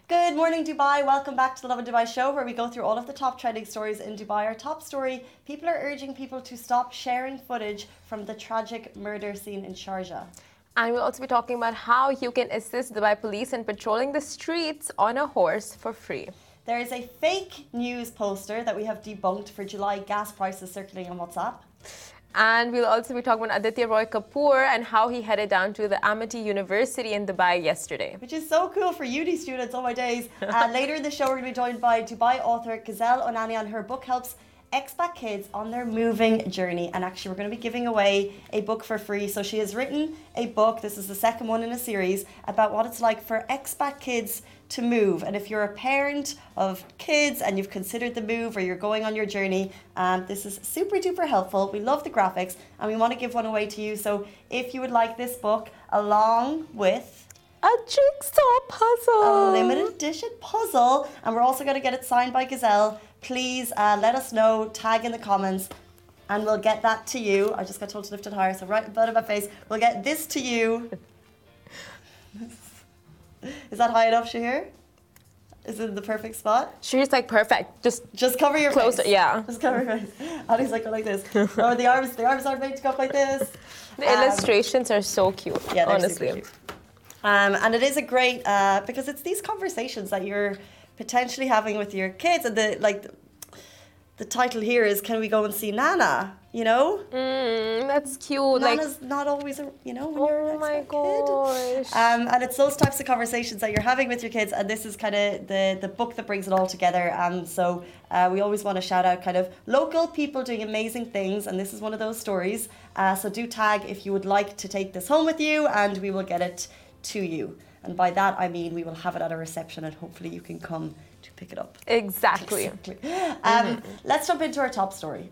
Good morning, Dubai. Welcome back to the Lovin Dubai show, where we go through all of the top trending stories in Dubai. Our top story: people are urging people to stop sharing footage from the tragic murder scene in Sharjah. And we'll also be talking about how you can assist Dubai police in patrolling the streets on a horse for free. There is a fake news poster that we have debunked for July gas prices circulating on WhatsApp. And we'll also be talking about Aditya Roy Kapoor and how he headed down to the Amity University in Dubai yesterday. Which is so cool for uni students, oh my days. Later in the show, we're going to be joined by Dubai author Gazelle Onanian. Her book helps expat kids on their moving journey. And actually, we're going to be giving away a book for free. So she has written a book, this is the second one in a series, about what it's like for expat kids to move. And if you're a parent of kids and you've considered the move or you're going on your journey, this is super duper helpful. We love the graphics and we want to give one away to you. So if you would like this book along with a jigsaw puzzle, a limited edition puzzle, and we're also going to get it signed by Gazelle, please let us know, tag in the comments, and we'll get that to you. I just got told to lift it higher, so right in front of my face, we'll get this to you. Is that high enough, Shahir? Is it in the perfect spot? Shahir's like perfect. Just cover your closer, face. Yeah. Just cover your face. Ali's like, go like this. Oh, the arms aren't made to go up like this. The illustrations are so cute. Yeah, they're honestly. super cute. And it is a great because it's these conversations that you're potentially having with your kids, and the title here is "Can we go and see Nana?" You know, that's cute. Nana's not always, when you're an my expat gosh. kid. And it's those types of conversations that you're having with your kids, and this is kind of the book that brings it all together. And so we always want to shout out kind of local people doing amazing things, and this is one of those stories. So do tag if you would like to take this home with you, and we will get it to you. And by that I mean we will have it at a reception, and hopefully you can come to pick it up. Exactly. Let's jump into our top story.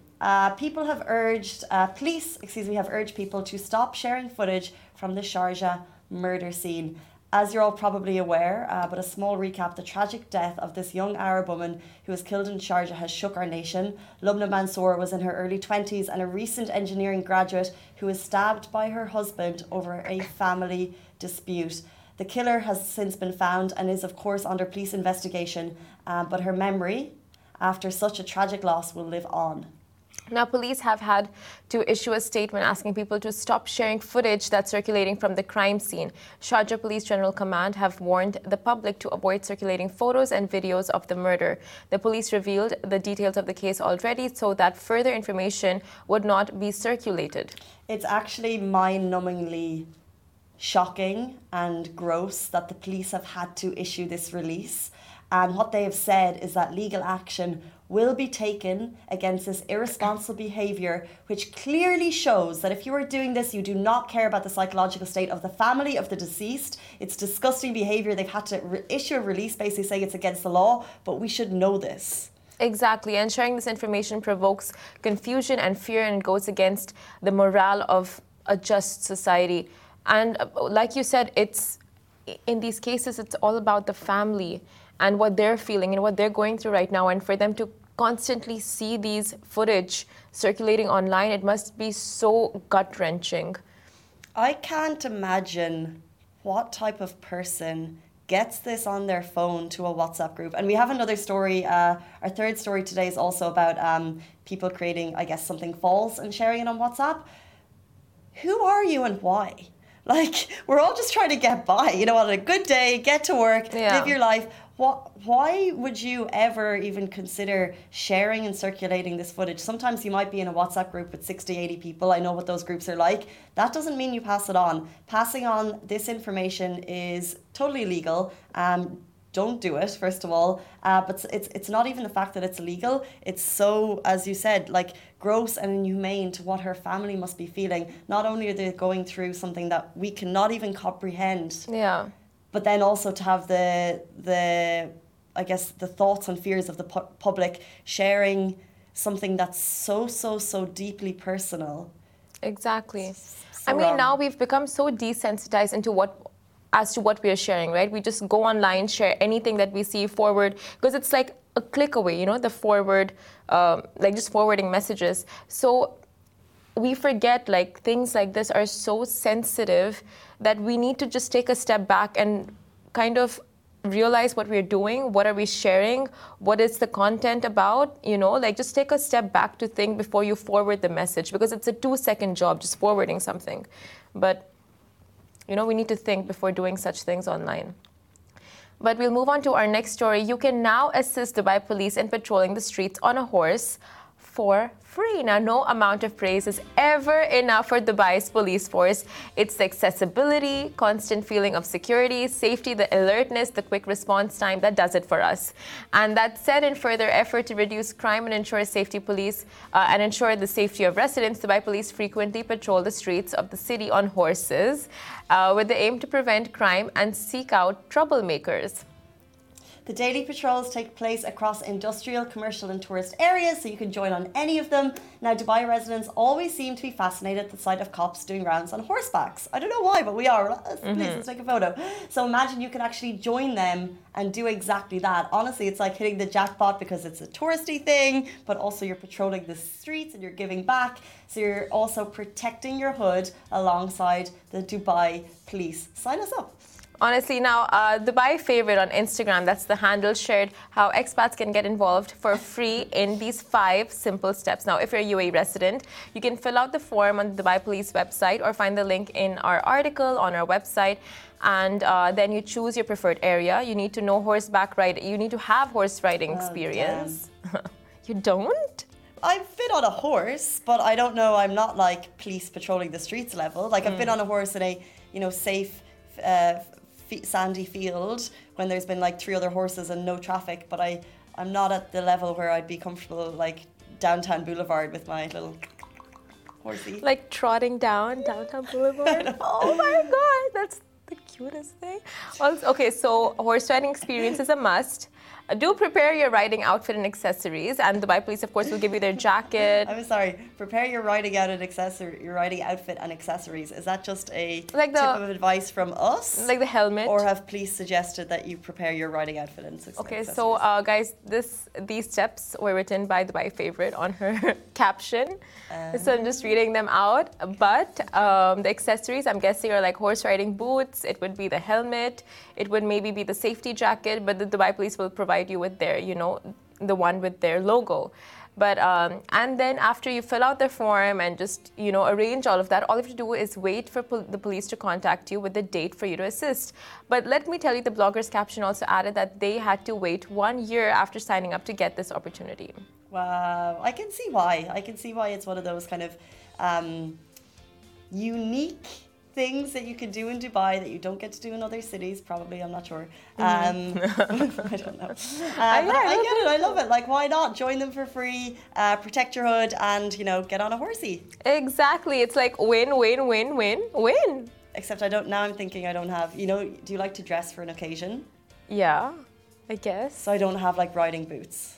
Police have urged people to stop sharing footage from the Sharjah murder scene. As you're all probably aware, but a small recap, the tragic death of this young Arab woman who was killed in Sharjah has shook our nation. Lubna Mansour was in her early 20s and a recent engineering graduate who was stabbed by her husband over a family dispute. The killer has since been found and is of course under police investigation, but her memory after such a tragic loss will live on. Now, police have had to issue a statement asking people to stop sharing footage that's circulating from the crime scene. Sharjah Police General Command have warned the public to avoid circulating photos and videos of the murder. The police revealed the details of the case already so that further information would not be circulated. It's actually mind-numbingly shocking and gross that the police have had to issue this release. And what they have said is that legal action will be taken against this irresponsible behaviour, which clearly shows that if you are doing this, you do not care about the psychological state of the family of the deceased. It's disgusting behaviour. They've had to issue a release basically saying it's against the law, but we should know this. Exactly, and sharing this information provokes confusion and fear, and goes against the morale of a just society. And like you said, in these cases, it's all about the family and what they're feeling and what they're going through right now. And for them to constantly see these footage circulating online, it must be so gut-wrenching. I can't imagine what type of person gets this on their phone to a WhatsApp group. And we have another story. Our third story today is also about people creating, I guess, something false and sharing it on WhatsApp. Who are you and why? Like, we're all just trying to get by, on a good day, get to work, live your life. Why would you ever even consider sharing and circulating this footage? Sometimes you might be in a WhatsApp group with 60, 80 people. I know what those groups are like. That doesn't mean you pass it on. Passing on this information is totally illegal. Don't do it, first of all. But it's not even the fact that it's illegal. It's so, as you said, like gross and inhumane to what her family must be feeling. Not only are they going through something that we cannot even comprehend. Yeah. But then also to have the thoughts and fears of the public sharing something that's so deeply personal. Exactly. So now we've become so desensitized as to what we are sharing, right? We just go online, share anything that we see, forward, because it's like a click away, the forward, just forwarding messages. So we forget things like this are so sensitive that we need to just take a step back and kind of realize what we're doing, what are we sharing, what is the content about, like just take a step back to think before you forward the message, because it's a 2-second job just forwarding something. But, we need to think before doing such things online. But we'll move on to our next story. You can now assist Dubai police in patrolling the streets on a horse for free. Now, no amount of praise is ever enough for Dubai's police force. It's the accessibility, constant feeling of security, safety, the alertness, the quick response time that does it for us. And that said, in further effort to reduce crime and ensure the safety of residents, Dubai police frequently patrol the streets of the city on horses with the aim to prevent crime and seek out troublemakers. The daily patrols take place across industrial, commercial and tourist areas, so you can join on any of them. Now, Dubai residents always seem to be fascinated at the sight of cops doing rounds on horsebacks. I don't know why, but we are. Please, let's take a photo. So imagine you can actually join them and do exactly that. Honestly, it's like hitting the jackpot because it's a touristy thing, but also you're patrolling the streets and you're giving back. So you're also protecting your hood alongside the Dubai police. Sign us up. Honestly, now, Dubai Favorite on Instagram, that's the handle, shared how expats can get involved for free in these 5 simple steps. Now, if you're a UAE resident, you can fill out the form on the Dubai Police website or find the link in our article on our website. And then you choose your preferred area. You need to know horseback riding. You need to have horse riding experience. You don't? I've been on a horse, but I don't know. I'm not like police patrolling the streets level. Like I've been on a horse in a, safe, sandy field when there's been like 3 other horses and no traffic, but I'm not at the level where I'd be comfortable like downtown Boulevard with my little horsey. Like trotting down downtown Boulevard? Oh my God, that's the cutest thing. Also, okay, so horse riding experience is a must. Do prepare your riding outfit and accessories, and Dubai Police, of course, will give you their jacket. I'm sorry. Prepare your riding outfit and accessories. Is that just a tip of advice from us? Like the helmet, or have police suggested that you prepare your riding outfit and accessories? Okay, so guys, these steps were written by Dubai Favorite on her caption, so I'm just reading them out. But the accessories, I'm guessing, are like horse riding boots. It would be the helmet. It would maybe be the safety jacket, but the Dubai Police will provide you with their, the one with their logo. But and then after you fill out the form and just, arrange all of that, all you have to do is wait for the police to contact you with the date for you to assist. But let me tell you, the blogger's caption also added that they had to wait 1 year after signing up to get this opportunity. Wow, I can see why. It's one of those kind of unique things that you can do in Dubai that you don't get to do in other cities, probably, I'm not sure. I don't know. I get it, I love it. Like, why not? Join them for free, protect your hood and, get on a horsey. Exactly. It's like win, win, win, win, win. Except I'm thinking I don't have, do you like to dress for an occasion? Yeah, I guess. So I don't have like riding boots.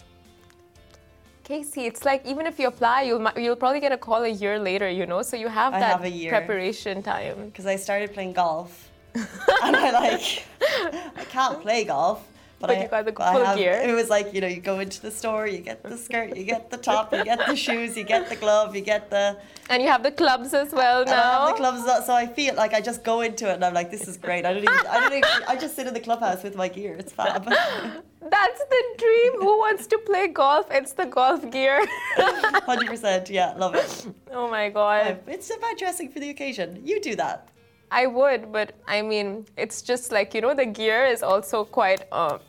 Casey, it's like even if you apply, you'll probably get a call a year later, so you have that preparation time. Because I started playing golf, and I can't play golf, but you got the full gear. It was like, you go into the store, you get the skirt, you get the top, you get the shoes, you get the glove, you get the... And you have the clubs as well now. And I have the clubs, so I feel like I just go into it and I'm like, this is great. I just sit in the clubhouse with my gear. It's fab. That's the dream. Who wants to play golf? It's the golf gear. 100%. Yeah, love it. Oh my God. It's about dressing for the occasion. You do that. I would, but I mean, it's just like, the gear is also quite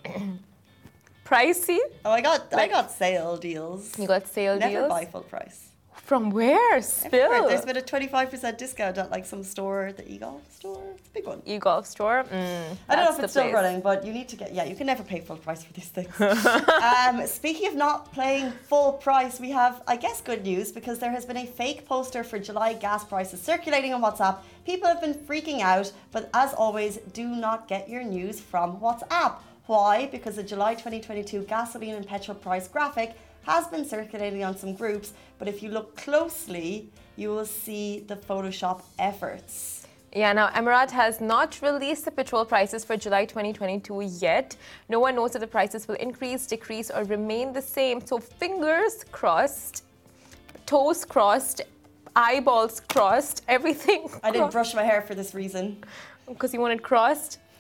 pricey. Oh, I got sale deals. You got sale deals? Never buy full price. From where? Spill. Everywhere. There's been a 25% discount at like some store, the eGolf store. It's a big one. eGolf store? I don't know if it's still running, but you need to you can never pay full price for these things. Speaking of not paying full price, we have, I guess, good news because there has been a fake poster for July gas prices circulating on WhatsApp. People have been freaking out, but as always, do not get your news from WhatsApp. Why? Because the July 2022 gasoline and petrol price graphic has been circulating on some groups, but if you look closely, you will see the Photoshop efforts. Yeah, now Emirat has not released the petrol prices for July 2022 yet. No one knows if the prices will increase, decrease, or remain the same. So fingers crossed, toes crossed, eyeballs crossed, everything crossed. I didn't brush my hair for this reason. Because you want it crossed?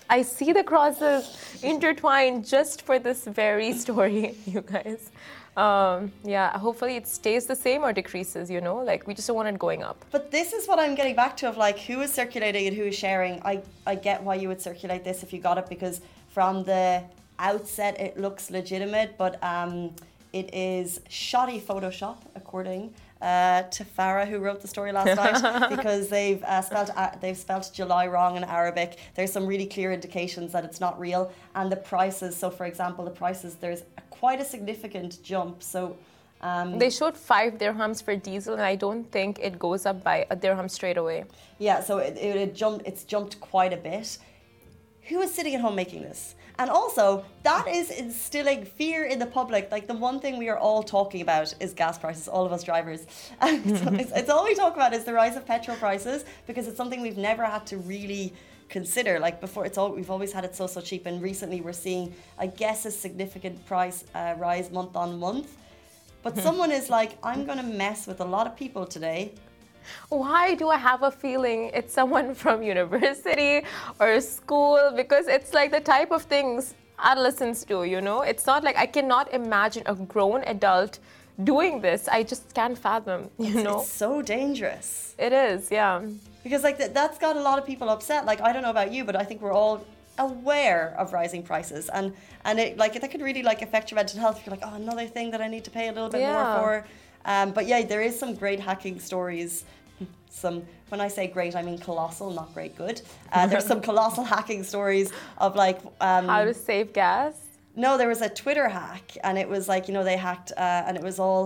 I see the crosses intertwined just for this very story, you guys. Yeah, hopefully it stays the same or decreases, you know? Like, we just don't want it going up. But this is what I'm getting back to of like who is circulating and who is sharing. I get why you would circulate this if you got it, because from the outset it looks legitimate, but it is shoddy Photoshop, according to Farah, who wrote the story last night, because they've spelled July wrong in Arabic. There's some really clear indications that it's not real, and the prices. So, for example, the prices, there's quite a significant jump. So. They showed 5 dirhams for diesel, and I don't think it goes up by a dirham straight away. Yeah, so it's jumped quite a bit. Who is sitting at home making this? And also, that is instilling fear in the public. Like, the one thing we are all talking about is gas prices, all of us drivers. And so it's all we talk about is the rise of petrol prices, because it's something we've never had to really consider. Like, before, we've always had it so cheap, and recently we're seeing, I guess, a significant price rise month on month. But someone is like, I'm going to mess with a lot of people today. Why do I have a feeling it's someone from university or school? Because it's like the type of things adolescents do, you know? It's not like I cannot imagine a grown adult doing this. I just can't fathom, you know? It's so dangerous. It is, yeah. Because like that's got a lot of people upset. Like, I don't know about you, but I think we're all aware of rising prices, and it like that could really like affect your mental health. You're like, oh, another thing that I need to pay a little bit more for. But yeah, there is some great hacking stories. When I say great, I mean colossal, not great good. There's some colossal hacking stories of like how to save gas. No, there was a Twitter hack, and it was like, you know, they hacked, and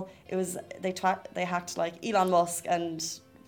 they hacked like Elon Musk and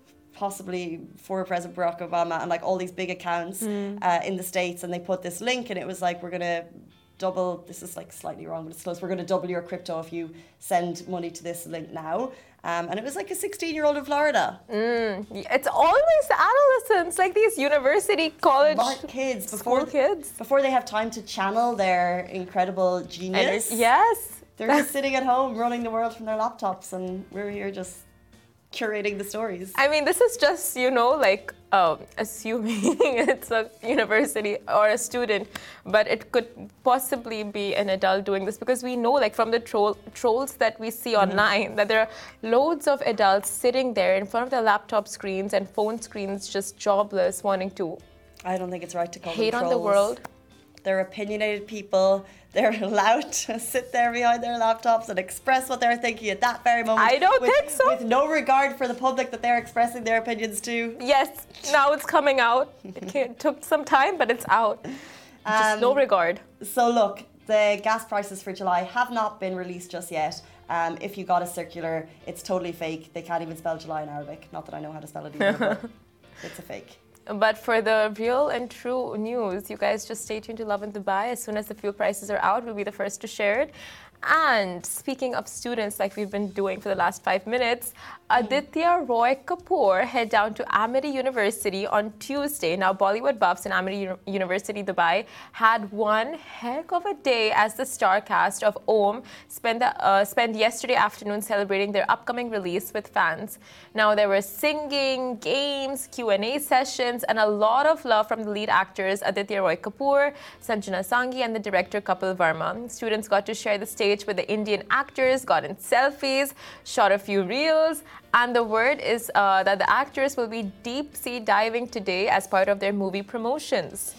possibly former President Barack Obama and like all these big accounts in the States, and they put this link, and it was like, we're gonna double, this is like slightly wrong, but it's close, we're gonna double your crypto if you send money to this link now. And it was like a 16-year-old in Florida. It's always the adolescents, like these university, college, smart kids, school kids. Before they have time to channel their incredible genius. Yes. They're just sitting at home running the world from their laptops, and we're here just curating the stories. I mean, this is just, you know, like assuming it's a university or a student, but it could possibly be an adult doing this, because we know, like, from the trolls that we see online, that there are loads of adults sitting there in front of their laptop screens and phone screens, just jobless, wanting to. I don't think it's right to call hate them on the world. They're opinionated people. They're allowed to sit there behind their laptops and express what they're thinking at that very moment. I don't think so. With no regard for the public that they're expressing their opinions to. Yes, now it's coming out. It took some time, but it's out. Just no regard. So look, the gas prices for July have not been released just yet. If you got a circular, it's totally fake. They can't even spell July in Arabic. Not that I know how to spell it either, but it's a fake. But for the real and true news, you guys just stay tuned to Lovin Dubai. As soon as the fuel prices are out, we'll be the first to share it. And speaking of students, like we've been doing for the last 5 minutes, Aditya Roy Kapoor head down to Amity University on Tuesday. Now, Bollywood buffs in Amity University, Dubai, had one heck of a day as the star cast of Om spent yesterday afternoon celebrating their upcoming release with fans. Now, there were singing, games, Q&A sessions, and a lot of love from the lead actors Aditya Roy Kapoor, Sanjana Sanghi, and the director Kapil Verma. Students got to share the stage with the Indian actors, got in selfies, shot a few reels, and the word is that the actors will be deep sea diving today as part of their movie promotions.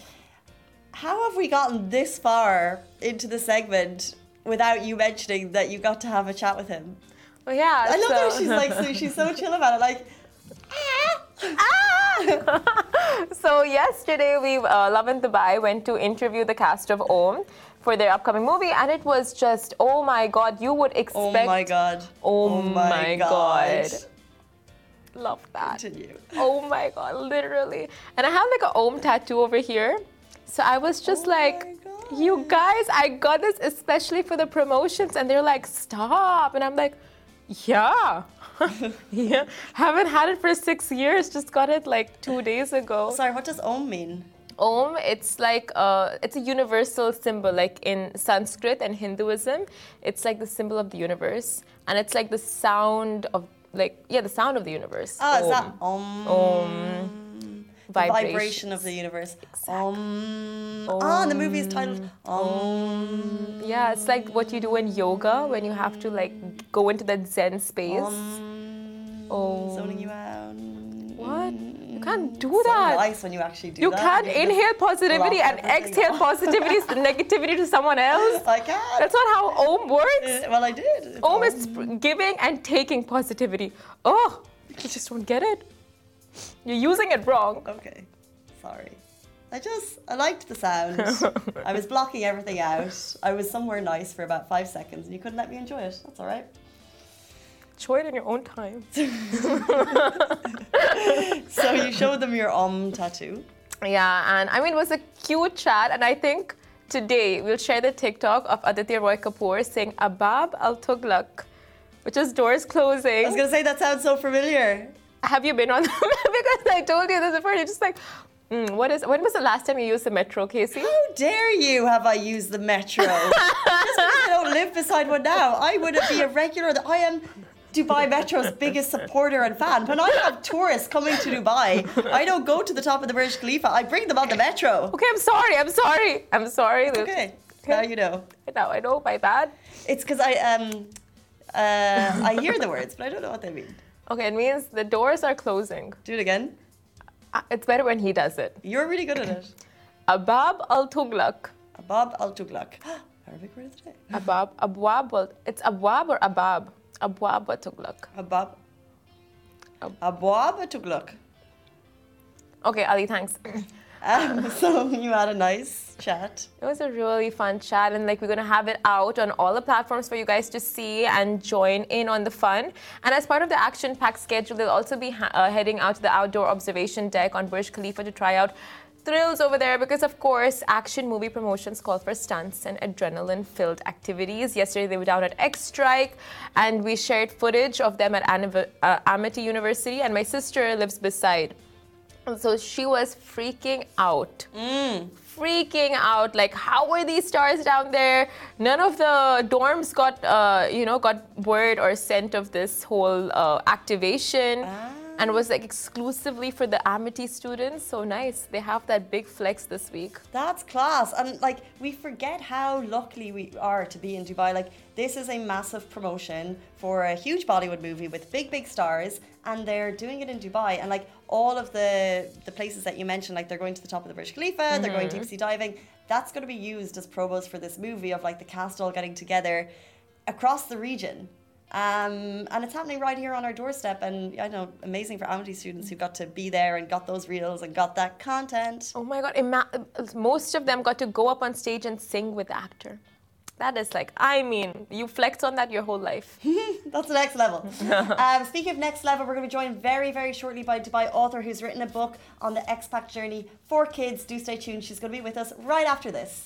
How have we gotten this far into the segment without you mentioning that you got to have a chat with him? Well, yeah. I love that she's like, she's so chill about it, like, So yesterday, Lovin Dubai went to interview the cast of Om for their upcoming movie, and it was just, oh my God, you would expect... Oh my God. Oh my God. Love that. Continue. Oh my God, literally. And I have like an Om tattoo over here. So I was just you guys, I got this especially for the promotions, and they're like, stop. And I'm like, yeah. Yeah. Haven't had it for 6 years, just got it like 2 days ago. Sorry, what does Om mean? Om, it's like it's a universal symbol, like in Sanskrit and Hinduism. It's like the symbol of the universe, and it's like the sound of the sound of the universe. Oh, is that Om? Om. vibration of the universe. And the movie is titled Yeah, it's like what you do in yoga when you have to like go into that Zen space. Zoning you out. What? You can't do So that. nice when you actually do You that. can't You just inhale positivity block and everything. exhale positivity, negativity to someone else. I can't. That's not how Om works. Well, I did. It's Om is giving and taking positivity. Oh, you just don't get it. You're using it wrong. Okay, sorry. I liked the sound. I was blocking everything out. I was somewhere nice for about 5 seconds and you couldn't let me enjoy it. That's all right. Enjoy it in your own time. So you showed them your tattoo. Yeah, and I mean, it was a cute chat, and I think today we'll share the TikTok of Aditya Roy Kapoor saying Abab Al Tughlaq, which is doors closing. I was going to say that sounds so familiar. Have you been on them? Because I told you this before. You're just like, when was the last time you used the metro, Casey? How dare you have I used the metro? Just because I don't live beside one now, I would be a regular. I am Dubai Metro's biggest supporter and fan. When I have tourists coming to Dubai, I don't go to the top of the Burj Khalifa. I bring them on the metro. Okay, I'm sorry. Okay, now you know. Now I know, my bad. It's because I hear the words, but I don't know what they mean. Okay, it means the doors are closing. Do it again. It's better when he does it. You're really good at it. Abab Al Tughlaq. Abab Al Tughlaq. Arabic word of the day. Abwab. It's Abwab or Abab? Abwab Al Tughlaq. Abwab Al Tughlaq. Okay, Ali, thanks. So you had a nice chat. It was a really fun chat, and like we're gonna have it out on all the platforms for you guys to see and join in on the fun. And as part of the action-packed schedule, they'll also be heading out to the outdoor observation deck on Burj Khalifa to try out thrills over there, because of course action movie promotions call for stunts and adrenaline-filled activities. Yesterday they were down at X Strike, and we shared footage of them at Amity University, and my sister lives beside. So she was freaking out. Freaking out. Like, how were these stars down there? None of the dorms got word or scent of this whole activation. And it was like exclusively for the Amity students. So nice. They have that big flex this week. That's class. And like, we forget how lucky we are to be in Dubai. Like, this is a massive promotion for a huge Bollywood movie with big stars, and they're doing it in Dubai. And like all of the places that you mentioned, like they're going to the top of the Burj Khalifa, they're going deep sea diving. That's going to be used as promos for this movie of like the cast all getting together across the region. And it's happening right here on our doorstep, and I know, amazing for Amity students who got to be there and got those reels and got that content. Oh my God, most of them got to go up on stage and sing with the actor. That is like, I mean, you flex on that your whole life. That's the next level. Speaking of next level, we're going to be joined very, very shortly by a Dubai author who's written a book on the expat journey for kids. Do stay tuned. She's going to be with us right after this.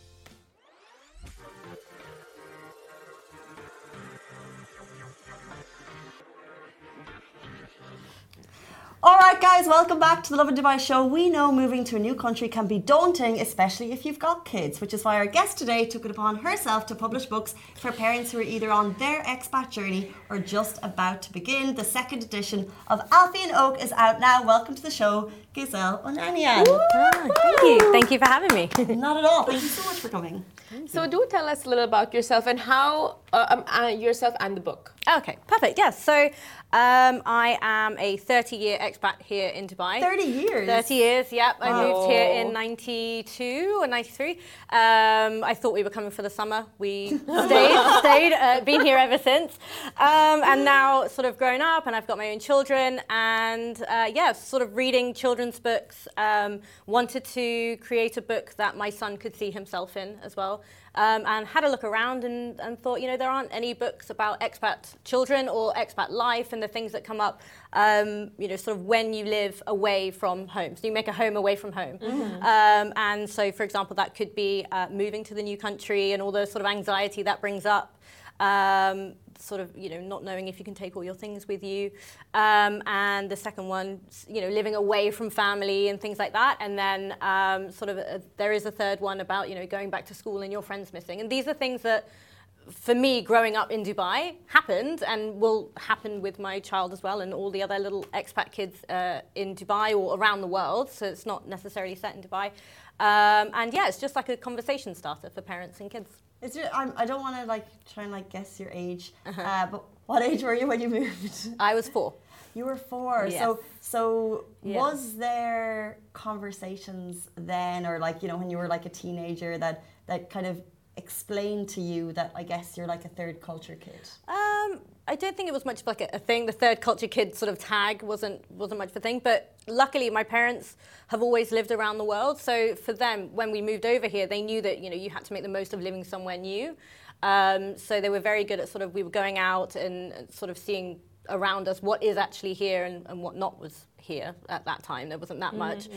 All right, guys, welcome back to the Lovin Dubai show. We know moving to a new country can be daunting, especially if you've got kids, which is why our guest today took it upon herself to publish books for parents who are either on their expat journey or just about to begin. The second edition of Alfie and Oak is out now. Welcome to the show, Giselle Onanian. Thank you. Thank you for having me. Not at all. Thank you so much for coming. So do tell us a little about yourself and how yourself and the book. Okay, perfect. Yes. So I am a 30-year expat here in Dubai. 30 years? 30 years, yep. I moved here in 92 or 93. I thought we were coming for the summer. We stayed, been here ever since. And now sort of grown up, and I've got my own children, and sort of reading children's books. Wanted to create a book that my son could see himself in as well. And had a look around and thought, there aren't any books about expat children or expat life and the things that come up, sort of when you live away from home. So you make a home away from home. Mm-hmm. And so, for example, that could be moving to the new country and all the sort of anxiety that brings up. Sort of, not knowing if you can take all your things with you. And the second one, living away from family and things like that. And then there is a third one about, going back to school and your friends missing. And these are things that for me, growing up in Dubai happened and will happen with my child as well and all the other little expat kids in Dubai or around the world. So it's not necessarily set in Dubai. And yeah, it's just like a conversation starter for parents and kids. I don't want to like try and like guess your age, but what age were you when you moved? I was 4. You were 4. Yes. So was there conversations then, or like, you know, when you were like a teenager that kind of explained to you that I guess you're like a third culture kid? I don't think it was much of like a thing. The third culture kid sort of tag wasn't much of a thing. But luckily, my parents have always lived around the world. So for them, when we moved over here, they knew that, you know, you had to make the most of living somewhere new. So they were very good at sort of, we were going out and sort of seeing around us what is actually here and what not was here at that time. There wasn't that much.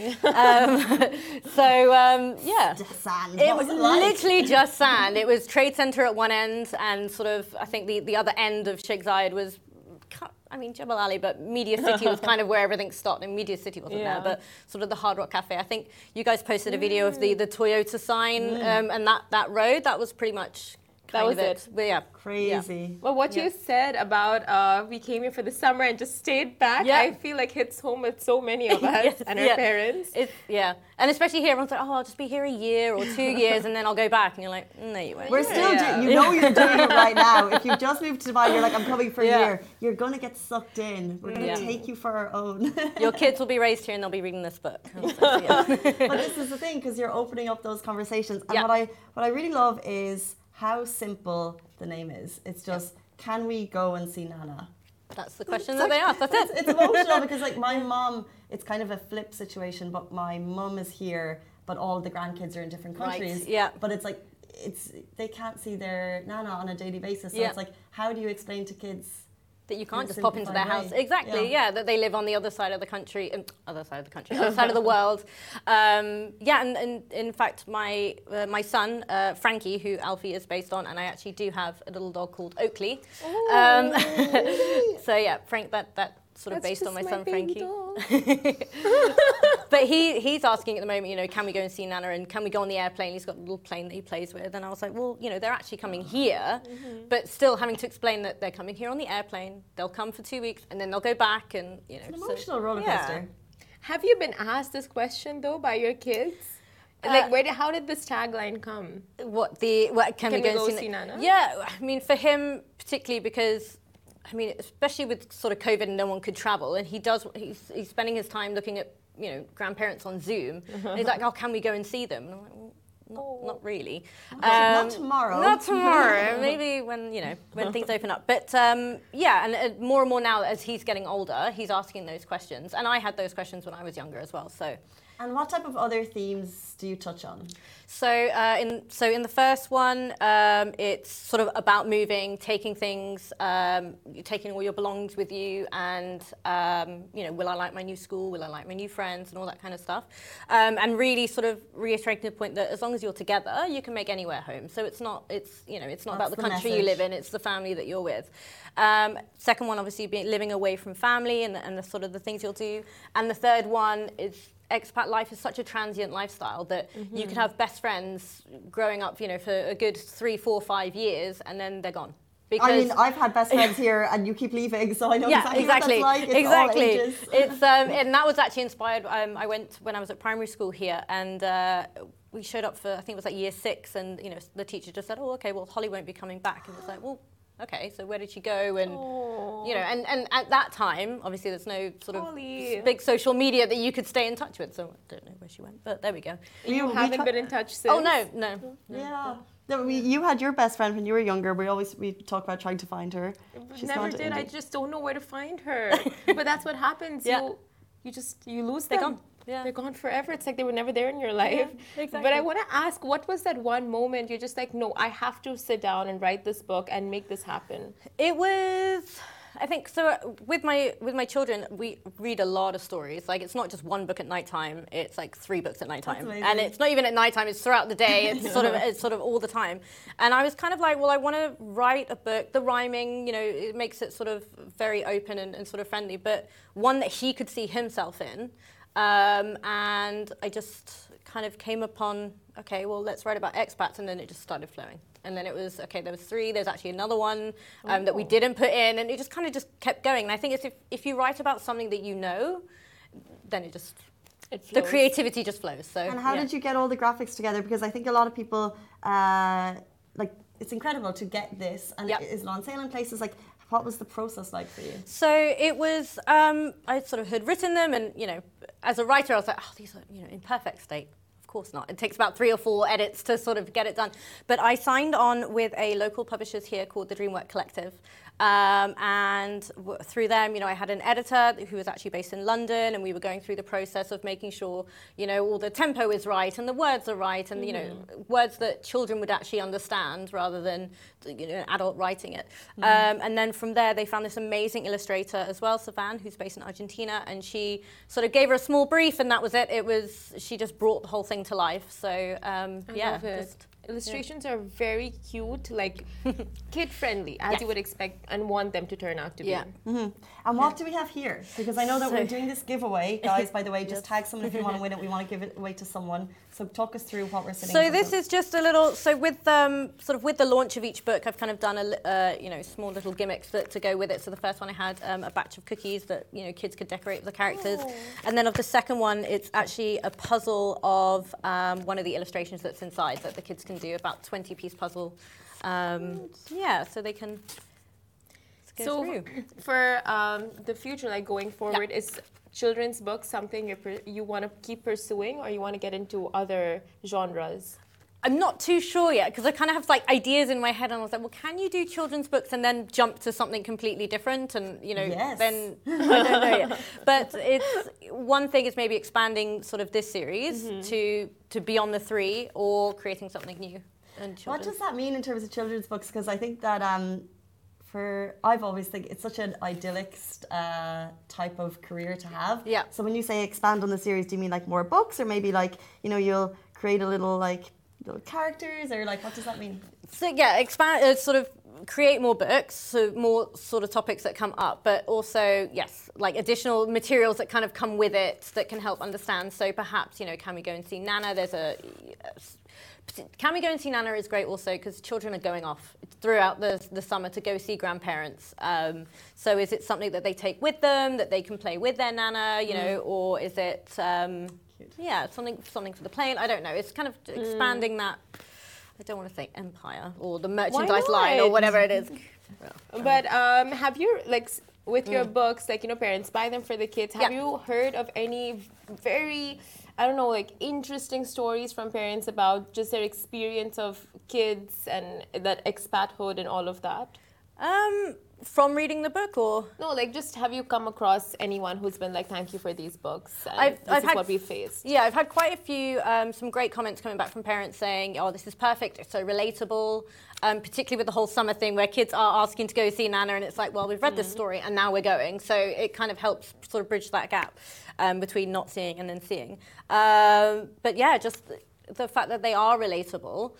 Yeah. Just sand. It was literally just sand. It was Trade Center at one end and sort of, I think the other end of Sheikh Zayed was, I mean, Jebel Ali, but Media City was kind of where everything stopped, and Media City wasn't there, but sort of the Hard Rock Cafe. I think you guys posted a video of the Toyota sign and that road. That was pretty much that was it. But yeah. Crazy. Yeah. Well, what you said about we came here for the summer and just stayed back, I feel like hits home with so many of us and our parents. And especially here, everyone's like, oh, I'll just be here a year or 2 years and then I'll go back. And you're like, no, you won't. We're still you know you're doing it right now. If you just moved to Dubai, you're like, I'm coming for a year. You're going to get sucked in. We're going to take you for our own. Your kids will be raised here and they'll be reading this book. But this is the thing, because you're opening up those conversations. And what I really love is how simple the name is. It's just, can we go and see Nana? That's the question that they ask. That's it. It's emotional because like my mum, it's kind of a flip situation, but my mum is here, but all the grandkids are in different countries. Right. Yeah. But it's like, they can't see their Nana on a daily basis. So it's like, how do you explain to kids that you can't just pop into their house? Exactly, that they live on the other side of the country, other side of the world. And in fact, my son, Frankie, who Alfie is based on, and I actually do have a little dog called Oakley. So yeah, Frank, that sort of based on my son Frankie. But he's asking at the moment, you know, can we go and see Nana and can we go on the airplane? He's got a little plane that he plays with. And I was like, well, you know, they're actually coming here, but still having to explain that they're coming here on the airplane. They'll come for 2 weeks and then they'll go back and, you know. It's an emotional roller coaster. Have you been asked this question though by your kids? Like, how did this tagline come? Can we go and see Nana? Yeah, I mean, for him particularly because, I mean, especially with sort of COVID and no one could travel, and he's spending his time looking at, you know, grandparents on Zoom. And he's like, oh, can we go and see them? And I'm like, well, not really. Not tomorrow. Not tomorrow. Maybe when things open up. But and more and more now as he's getting older, he's asking those questions. And I had those questions when I was younger as well. So. And what type of other themes do you touch on? So in the first one, it's sort of about moving, taking things, taking all your belongings with you, and you know, will I like my new school? Will I like my new friends, and all that kind of stuff. And really sort of reiterating the point that as long as you're together, you can make anywhere home. So it's not about the country you live in; it's the family that you're with. Second one, obviously, living away from family and the sort of the things you'll do. And the third one is. Expat life is such a transient lifestyle that you can have best friends growing up, you know, for a good 3, 4, 5 years, and then they're gone. Because I mean, I've had best friends here, and you keep leaving, so I know exactly what that's like. It's all ages. It's and that was actually inspired. I went when I was at primary school here, and we showed up for I think it was like year 6, and you know, the teacher just said, "Oh, okay, well, Holly won't be coming back," and it's like, well. Okay, so where did she go? And you know, and at that time, obviously, there's no sort of big social media that you could stay in touch with. So I don't know where she went, but there we go. You haven't been in touch since? Oh no. Yeah. No, you had your best friend when you were younger. We talk about trying to find her. She's never did. I just don't know where to find her. But that's what happens. You lose them. They're gone. Yeah. They're gone forever. It's like they were never there in your life. Yeah, exactly. But I want to ask, what was that one moment you're just like, no, I have to sit down and write this book and make this happen? It was, I think, so with my children, we read a lot of stories. Like, it's not just one book at nighttime. It's like 3 books at nighttime. And it's not even at nighttime. It's throughout the day. It's sort of all the time. And I was kind of like, well, I want to write a book. The rhyming, you know, it makes it sort of very open and sort of friendly, but one that he could see himself in. And I just kind of came upon okay, well, let's write about expats, and then it just started flowing. And then it was, okay, there was 3, there's actually another one that we didn't put in, and it just kind of just kept going. And I think it's if you write about something that you know, then it the creativity just flows. So. And how did you get all the graphics together? Because I think a lot of people, like, it's incredible to get this, and is it on sale in places? Like, what was the process like for you? So it was, I sort of had written them, and, you know, as a writer, I was like, oh, these are, you know, in perfect state. Of course not. It takes about 3 or 4 edits to sort of get it done. But I signed on with a local publishers here called the Dreamwork Collective. And through them, you know, I had an editor who was actually based in London, and we were going through the process of making sure, you know, all the tempo is right and the words are right, and, you know, words that children would actually understand rather than, you know, an adult writing it. And then from there, they found this amazing illustrator as well, Savan, who's based in Argentina, and she sort of gave her a small brief, and that was it. She just brought the whole thing to life. So, illustrations are very cute, like kid-friendly, as you would expect and want them to turn out to be. And what do we have here? Because I know that we're doing this giveaway, guys, by the way, just tag someone if you want to win it. We want to give it away to someone. So talk us through what we're sitting So this is just a little, so with sort of with the launch of each book, I've kind of done you know, small little gimmicks to go with it. So the first one I had a batch of cookies that, you know, kids could decorate with the characters. And then of the second one, it's actually a puzzle of one of the illustrations that's inside that the kids can do, about 20-piece puzzle. So they can go through. For the future, like going forward, is children's books something you want to keep pursuing, or you want to get into other genres? I'm not too sure yet, because I kind of have like ideas in my head, and I was like, well, can you do children's books and then jump to something completely different? And, you know, then I don't know yet. But it's one thing is maybe expanding sort of this series to beyond the 3, or creating something new. What does that mean in terms of children's books? Because I think that I've always think it's such an idyllic type of career to have. Yeah. So when you say expand on the series, do you mean like more books, or maybe like, you know, you'll create a little like little characters, or like what does that mean? So yeah, expand, sort of create more books, so more sort of topics that come up, but also, yes, like additional materials that kind of come with it that can help understand. So perhaps, you know, Can We Go and See Nana? Can We Go and See Nana is great also because children are going off throughout the summer to go see grandparents. So is it something that they take with them, that they can play with their Nana, you know, or is it, something for the plane? I don't know. It's kind of expanding that, I don't want to say empire or the merchandise line or whatever it is. But have you, like, with your books, like, you know, parents buy them for the kids. Have you heard of any very, I don't know, like interesting stories from parents about just their experience of kids and that expathood and all of that? From reading the book, or? No, like just have you come across anyone who's been like, thank you for these books, and I've had what we faced? Yeah, I've had quite a few, some great comments coming back from parents saying, oh, this is perfect, it's so relatable, particularly with the whole summer thing where kids are asking to go see Nana, and it's like, well, we've read this story and now we're going. So it kind of helps sort of bridge that gap between not seeing and then seeing. But yeah, just the fact that they are relatable,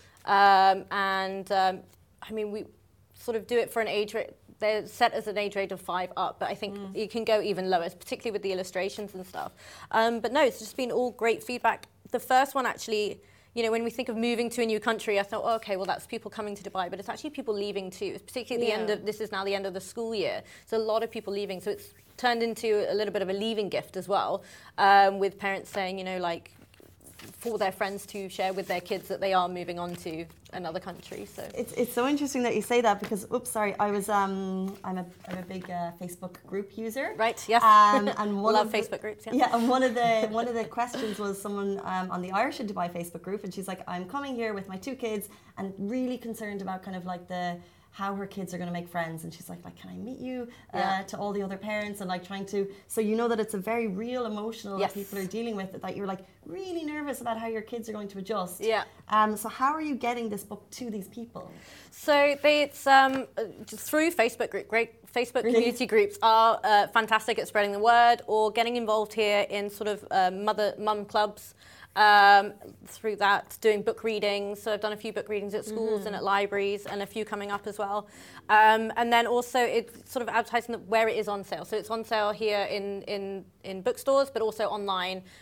I mean, we sort of do it for an age rate. They're set as an age rate of 5 up, but I think you can go even lower, particularly with the illustrations and stuff. But no, it's just been all great feedback. The first one actually, you know, when we think of moving to a new country, I thought, oh, okay, well, that's people coming to Dubai, but it's actually people leaving too. It's particularly this is now the end of the school year. So a lot of people leaving. So it's turned into a little bit of a leaving gift as well, with parents saying, you know, like, for their friends to share with their kids that they are moving on to another country. So it's so interesting that you say that because I was I'm a big Facebook group user. Right. Yes. And love Facebook groups. Yeah. Yeah. And one of the questions was someone on the Irish in Dubai Facebook group, and she's like, I'm coming here with my 2 kids and really concerned about kind of like how her kids are going to make friends, and she's like, can I meet you to all the other parents, and like trying to, so you know that it's a very real emotional that people are dealing with, that you're like really nervous about how your kids are going to adjust. Yeah. So how are you getting this book to these people? So it's just through Facebook group. Great Facebook community groups are fantastic at spreading the word or getting involved here in sort of mum clubs. Through that, doing book readings. So I've done a few book readings at schools and at libraries, and a few coming up as well. And then also it's sort of advertising where it is on sale. So it's on sale here in bookstores, but also online.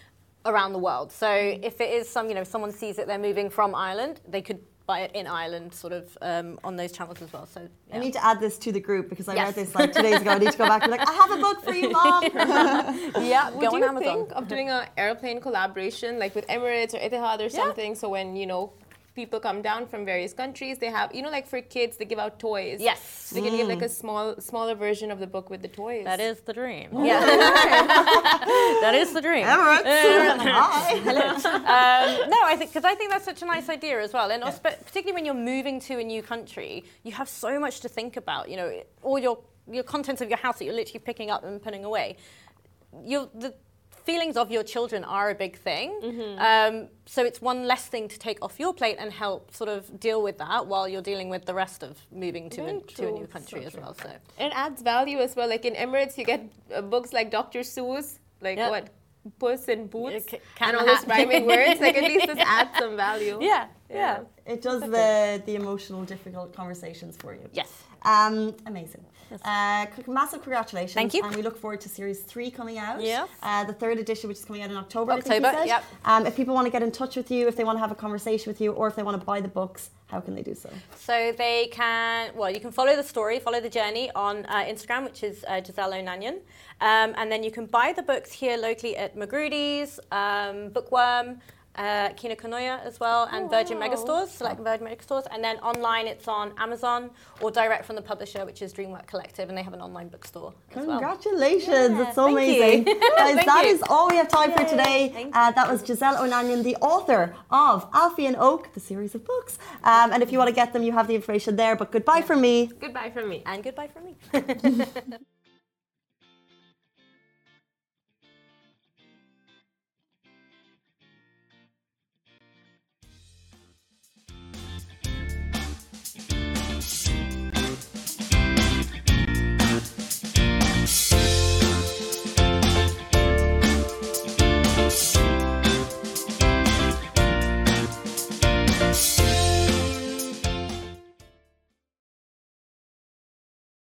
around the world. So if it is someone sees it, they're moving from Ireland, they could buy it in Ireland, sort of on those channels as well. So I need to add this to the group because I read this like 2 days ago. I need to go back and be like, I have a book for you, Mom. Yeah, would you think of doing an airplane collaboration like with Emirates or Etihad or something? So when people come down from various countries, they have like for kids they give out toys. Yes, so they can give like a smaller version of the book with the toys. That is the dream. Yeah, that is the dream. Emirates. Hi. No, I think that's such a nice idea as well, and particularly when you're moving to a new country, you have so much to think about. All your contents of your house that you're literally picking up and putting away. The feelings of your children are a big thing. So it's one less thing to take off your plate and help sort of deal with that while you're dealing with the rest of moving to a new country as well. So it adds value as well. Like in Emirates, you get books like Dr. Seuss, like what? Puss in Boots, and all those rhyming words. Like at least this adds some value. Yeah. It does the emotional, difficult conversations for you. Yes. Amazing. Massive congratulations. Thank you. And we look forward to series 3 coming out. Yes. The 3rd edition, which is coming out in October. I think you yep. said. If people want to get in touch with you, if they want to have a conversation with you, or if they want to buy the books, how can they do so? So they can, you can follow the story, follow the journey on Instagram, which is Giselle O'Nanion. And then you can buy the books here locally at Magrudy's, Bookworm, Kina Kanoya as well, and Virgin Megastores, select Virgin Megastores. And then online it's on Amazon or direct from the publisher, which is Dreamwork Collective, and they have an online bookstore as well. Congratulations, it's so amazing. Guys, that is all we have time for today. That was Giselle O'Nanion, the author of Alfie and Oak, the series of books. And if you want to get them, you have the information there. But goodbye from me. Goodbye from me. And goodbye from me.